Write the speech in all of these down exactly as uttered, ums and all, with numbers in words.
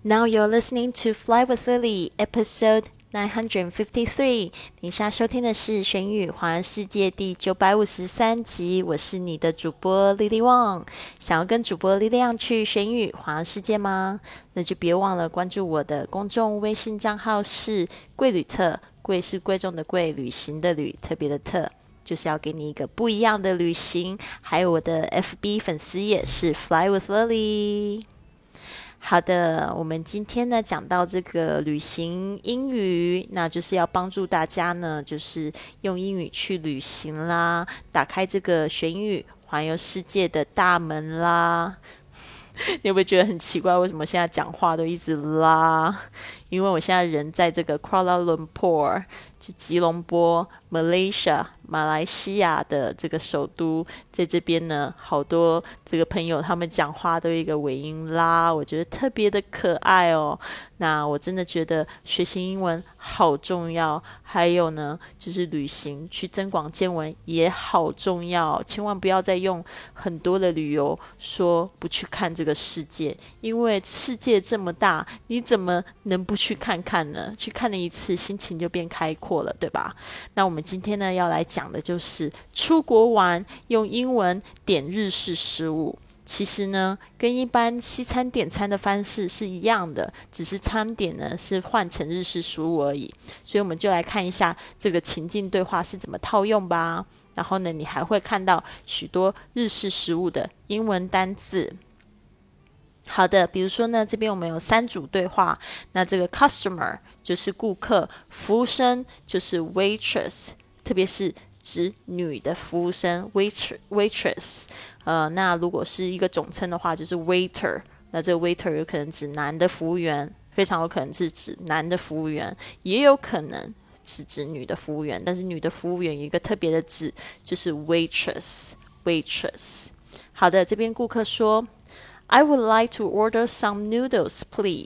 Now you're listening to Fly with Lily, episode nine fifty-three. 你现在收听的是《玄宇环世界》第九百五十三集，我是你的主播 Lily Wang。想要跟主播力量去玄宇环世界吗？那就别忘了关注我的公众微信账号是贵旅特，贵是贵重的贵，旅行的旅，特别的特。就是要给你一个不一样的旅行，还有我的 F B 粉丝也是 Fly with Lily。好的，我们今天呢讲到这个旅行英语，那就是要帮助大家呢，就是用英语去旅行啦，打开这个玄宇环游世界的大门啦。你会不会觉得很奇怪，为什么现在讲话都一直啦？因为我现在人在这个 Kuala Lumpur， 就吉隆坡 Malaysia 马来西亚的这个首都，在这边呢，好多这个朋友他们讲话都有一个尾音啦，我觉得特别的可爱哦。那我真的觉得学习英文好重要，还有呢，就是旅行去增广见闻也好重要，千万不要再用很多的理由说不去看这个世界，因为世界这么大，你怎么能不去看看呢？去看了一次，心情就变开阔了，对吧？那我们今天呢要来讲的就是出国玩用英文点日式食物。其实呢，跟一般西餐点餐的方式是一样的，只是餐点呢是换成日式食物而已。所以我们就来看一下这个情境对话是怎么套用吧。然后呢，你还会看到许多日式食物的英文单字。好的，比如说呢，这边我们有三组对话。那这个 customer 就是顾客，服务生就是 waitress， 特别是指女的服务生 waitress waitress。呃，那如果是一个总称的话，就是 waiter。那这个 waiter 有可能指男的服务员，非常有可能是指男的服务员，也有可能是指女的服务员。但是女的服务员有一个特别的字，就是 waitress waitress。好的，这边顾客说 I would like to order some noodles,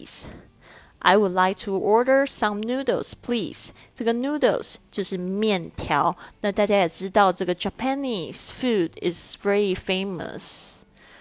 please.I would like to order some noodles, please. 这个 noodles 就是面条。那大家也知道，这个 Japanese food is very famous.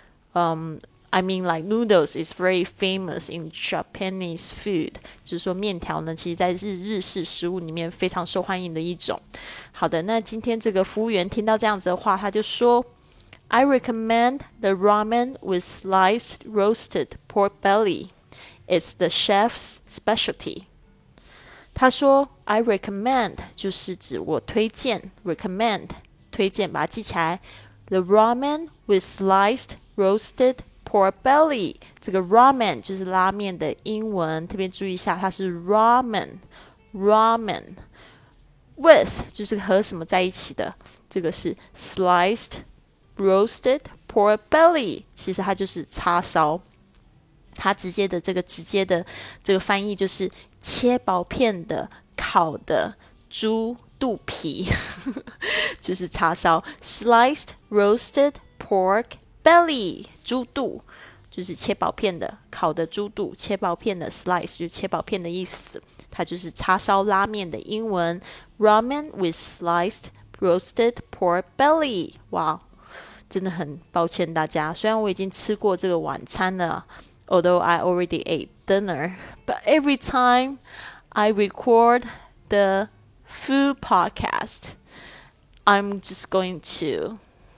Um, I mean, like noodles is very famous in Japanese food. 就是说面条呢，其实在日日式食物里面非常受欢迎的一种。好的，那今天这个服务员听到这样子的话，他就说 I recommend the ramen with sliced roasted pork belly.It's the chef's specialty. 他说 I recommend 就是指我推荐 recommend 推荐，把它记起来 The ramen with sliced roasted pork belly. 这个 ramen 就是拉面的英文，特别注意一下，它是 ramen ramen with 就是和什么在一起的，这个是 sliced roasted pork belly， 其实它就是叉烧。它直接的这个直接的这个翻译就是切薄片的烤的猪肚皮就是叉烧 sliced roasted pork belly 猪肚就是切薄片的烤的猪肚，切薄片的 slice 就是切薄片的意思，它就是叉烧拉面的英文 ramen with sliced roasted pork belly。 哇，真的很抱歉大家，虽然我已经吃过这个晚餐了，Although I already ate dinner, but every time I record the food podcast, I'm just going to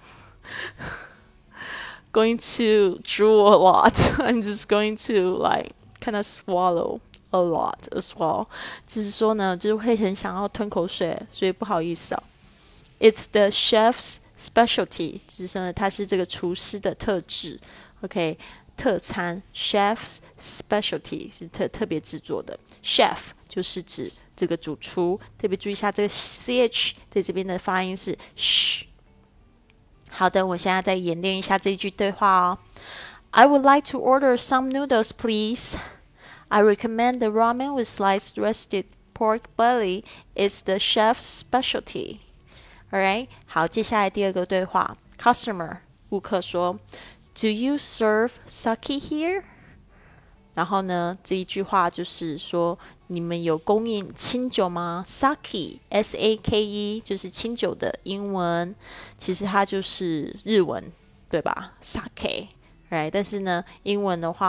going to drool a lot. I'm just going to like kind of swallow a lot as well. 就是说呢，就是会很想要吞口水，所以不好意思啊。It's the chef's specialty， 就是说呢，它是这个厨师的特质。OK。特餐 chef's specialty 是特特别制作的 chef 就是指这个主厨，特别注意一下这个 ch 在这边的发音是 sh。 好的，我现在再演练一下这一句对话哦。 I would like to order some noodles, please. I recommend the ramen with sliced roasted pork belly. It's the chef's specialty. Alright， 好，接下来第二个对话 customer 顾客说Do you serve sake here? 然后呢，这一句话就是说，你们有供应清酒吗 ？Sake, S A K E 就是清酒的英文，其实它就是日文，对吧 ？Sake，right？ 但是呢，英文的话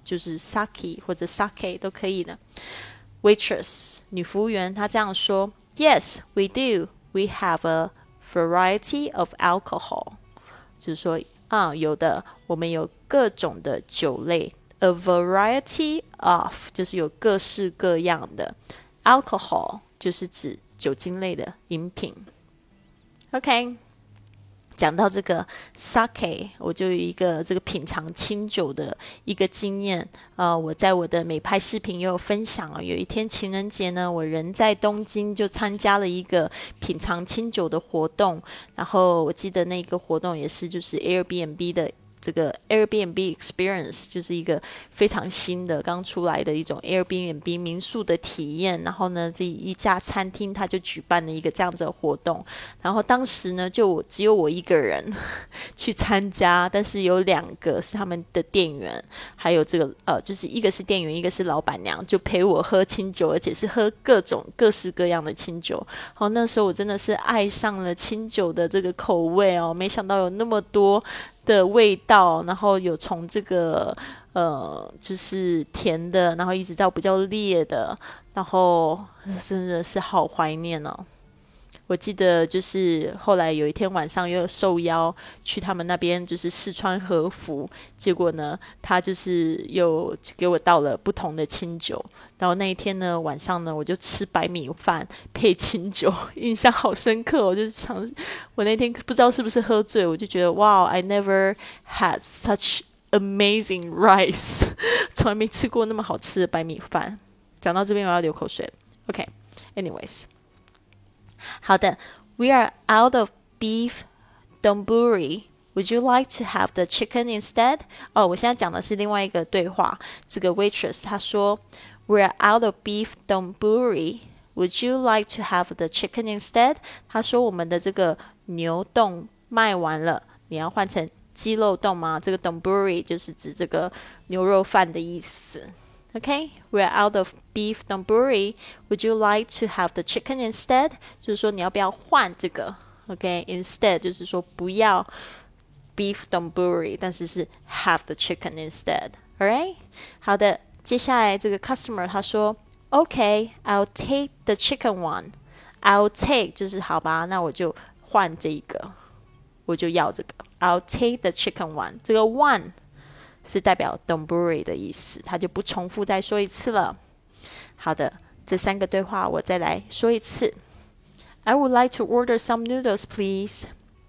就是 sake 或者 sake 都可以的。Waitress 女服务员她这样说 Yes, we do. We have a variety of alcohol. 就是说啊，有的，我们有各种的酒类。A variety of 就是有各式各样的。Alcohol 就是指酒精类的饮品。OK， 讲到这个 sake， 我就有一个这个品尝清酒的一个经验。呃，我在我的美拍视频也有分享啊。有一天情人节呢，我人在东京，就参加了一个品尝清酒的活动。然后我记得那个活动也是就是 Airbnb 的。这个 Airbnb Experience 就是一个非常新的刚出来的一种 Airbnb 民宿的体验，然后呢这一家餐厅它就举办了一个这样子的活动，然后当时呢就只有我一个人去参加，但是有两个是他们的店员，还有这个呃就是一个是店员一个是老板娘，就陪我喝清酒，而且是喝各种各式各样的清酒。好，那时候我真的是爱上了清酒的这个口味哦，没想到有那么多的味道，然后有从这个呃就是甜的，然后一直到比较烈的，然后真的是好怀念哦。我记得就是后来有一天晚上又有受邀去他们那边就是试穿和服，结果呢他就是又给我倒了不同的清酒，然后那一天呢晚上呢我就吃白米饭配清酒，印象好深刻。我就想我那天不知道是不是喝醉，我就觉得哇 I never had such amazing rice 从来没吃过那么好吃的白米饭。讲到这边我要流口水了。 OK anyways，好的 We are out of beef donburi. Would you like to have the chicken instead? 哦，我现在讲的是另外一个对话。这个 waitress 她说 We are out of beef donburi. Would you like to have the chicken instead? 她说我们的这个牛冻卖完了，你要换成鸡肉冻吗？这个 donburi 就是指这个牛肉饭的意思。Okay, we're out of beef donburi. Would you like to have the chicken instead? 就是说你要不要换这个 Okay, instead 就是说不要 beef donburi 但是是 have the chicken instead. Alright? 好的，接下来这个 customer 他说 Okay, I'll take the chicken one. I'll take 就是好吧，那我就换这个，我就要这个 I'll take the chicken one. 这个 one是代表 donburi 的意思，他就不重复再说一次了。好的，这三个对话我再来说一次。I would like to order some noodles, please.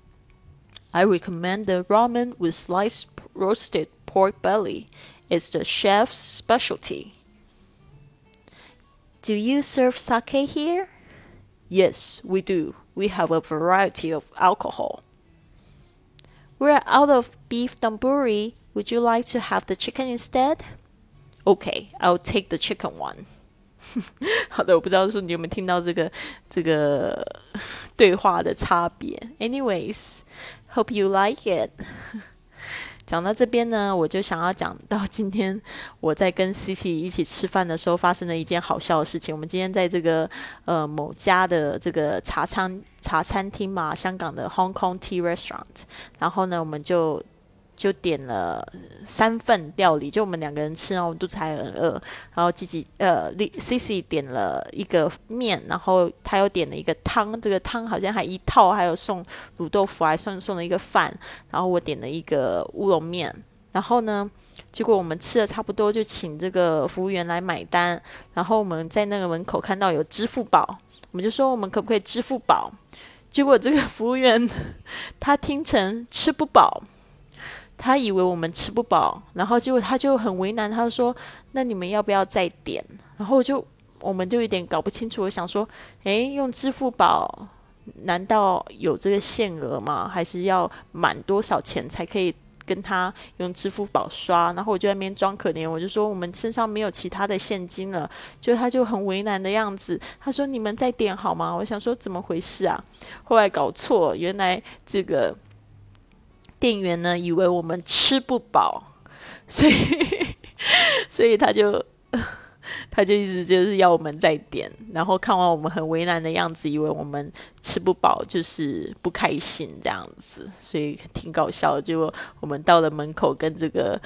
I recommend the ramen with sliced roasted pork belly. It's the chef's specialty. Do you serve sake here? Yes, we do. We have a variety of alcohol. We're out of beef donburi.Would you like to have the chicken instead? Okay, I'll take the chicken one. 好的，我不知道说你有没有听到这个这个对话的差别。Anyways, hope you like it. 讲到这边呢，我就想要讲到今天我在跟 Cici 一起吃饭的时候发生了一件好笑的事情。我们今天在这个呃某家的这个茶餐茶餐厅嘛，香港的 Hong Kong Tea Restaurant， 然后呢我们就就点了三份料理，就我们两个人吃，然后我们肚子还很饿。然后自己呃 Cici 点了一个面，然后他又点了一个汤，这个汤好像还一套，还有送卤豆腐，还送送了一个饭。然后我点了一个乌龙面，然后呢，结果我们吃的差不多，就请这个服务员来买单。然后我们在那个门口看到有支付宝，我们就说我们可不可以支付宝？结果这个服务员他听成吃不饱。他以为我们吃不饱，然后结果他就很为难，他就说那你们要不要再点？然后就我们就有点搞不清楚，我想说诶，用支付宝难道有这个限额吗？还是要满多少钱才可以跟他用支付宝刷？然后我就在那边装可怜，我就说我们身上没有其他的现金了，就他就很为难的样子，他说你们再点好吗？我想说怎么回事啊？后来搞错，原来这个店员呢以为我们吃不饱，所以所以他就他就一直就是要我们再点，然后看完我们很为难的样子，以为我们吃不饱，就是不开心这样子，所以挺搞笑的。结果我们到了门口跟这个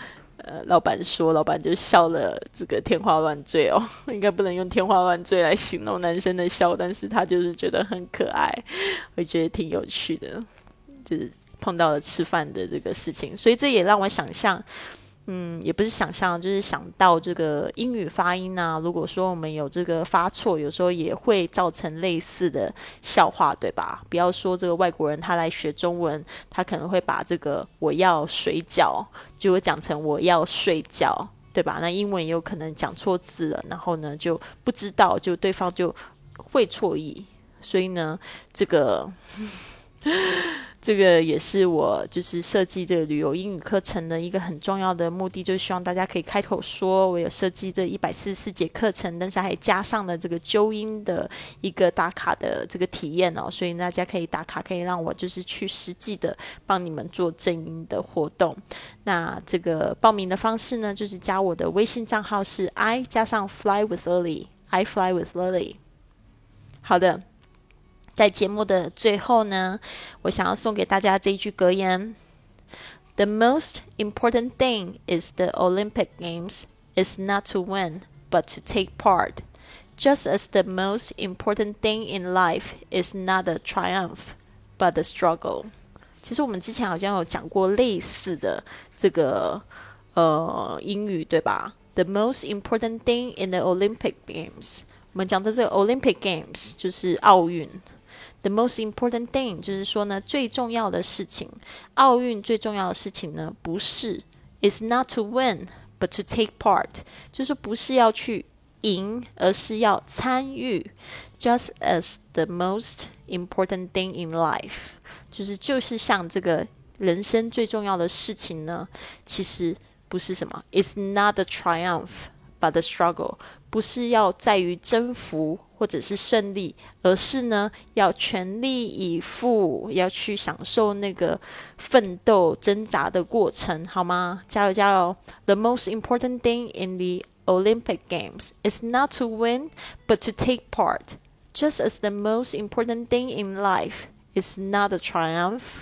呃老板说，老板就笑了这个天花乱坠哦，应该不能用天花乱坠来形容男生的笑，但是他就是觉得很可爱，我觉得挺有趣的，就是碰到了吃饭的这个事情，所以这也让我想象。嗯，也不是想象，就是想到这个英语发音啊。如果说我们有这个发错，有时候也会造成类似的笑话，对吧？不要说这个外国人他来学中文，他可能会把这个我要水饺就会讲成我要睡觉，对吧？那英文也有可能讲错字了，然后呢就不知道，就对方就会错意。所以呢，这个。这个也是我就是设计这个旅游英语课程的一个很重要的目的，就是希望大家可以开口说。我有设计这一百四十四节课程，但是还加上了这个纠音的一个打卡的这个体验哦，所以大家可以打卡，可以让我就是去实际的帮你们做正音的活动。那这个报名的方式呢，就是加我的微信账号是 I 加上 Fly with Lily，I Fly with Lily。好的。在节目的最后呢，我想要送给大家这一句格言 ：The most important thing is the Olympic Games is not to win, but to take part. Just as the most important thing in life is not a triumph, but a struggle. 其实我们之前好像有讲过类似的这个呃英语，对吧？ The most important thing in the Olympic Games， 我们讲的这个 Olympic Games 就是奥运。The most important thing 就是说呢，最重要的事情，奥运最重要的事情呢，不是 is not to win but to take part， 就是不是要去赢，而是要参与。Just as the most important thing in life， 就是就是像这个人生最重要的事情呢，其实不是什么 is not a triumph but a struggle， 不是要在于征服或者是胜利，而是呢要全力以赴，要去享受那个奋斗挣扎的过程，好吗？加油加油 ！The most important thing in the Olympic Games is not to win, but to take part. Just as the most important thing in life is not a triumph,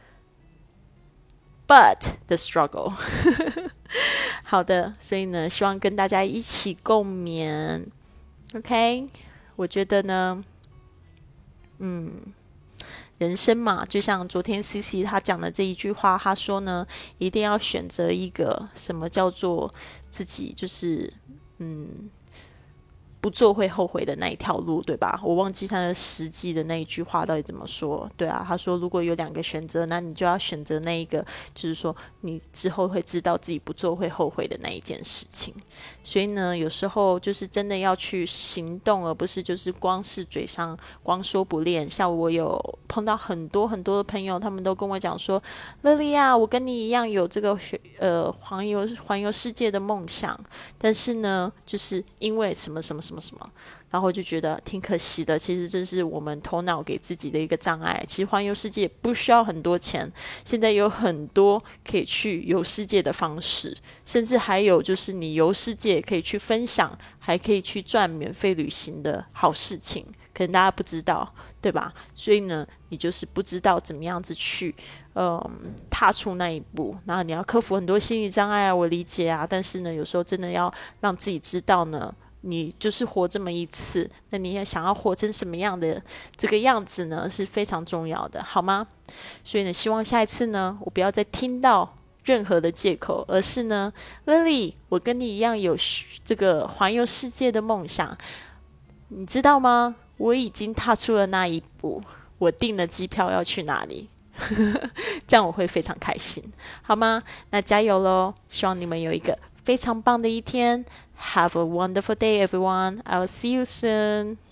but the struggle. 好的，所以呢，希望跟大家一起共勉。OK。我觉得呢，嗯，人生嘛，就像昨天 C C 他讲的这一句话，他说呢，一定要选择一个什么叫做自己就是嗯不做会后悔的那一条路，对吧？我忘记他的实际的那一句话到底怎么说。对啊，他说如果有两个选择，那你就要选择那一个，就是说你之后会知道自己不做会后悔的那一件事情。所以呢，有时候就是真的要去行动，而不是就是光是嘴上光说不练。像我有碰到很多很多的朋友，他们都跟我讲说，乐莉啊，我跟你一样有这个呃环游环游世界的梦想，但是呢，就是因为什么什么什么什么，然后就觉得挺可惜的。其实这是我们头脑给自己的一个障碍。其实环游世界不需要很多钱，现在有很多可以去游世界的方式，甚至还有就是你游世界可以去分享，还可以去赚免费旅行的好事情，可能大家不知道，对吧？所以呢，你就是不知道怎么样子去嗯踏出那一步，然后你要克服很多心理障碍啊，我理解啊，但是呢，有时候真的要让自己知道呢，你就是活这么一次，那你也想要活成什么样的这个样子呢，是非常重要的，好吗？所以呢，希望下一次呢，我不要再听到任何的借口，而是呢 Lily 我跟你一样有这个环游世界的梦想，你知道吗？我已经踏出了那一步，我订了机票要去哪里这样我会非常开心，好吗？那加油咯，希望你们有一个非常棒的一天。Have a wonderful day, everyone. I'll see you soon.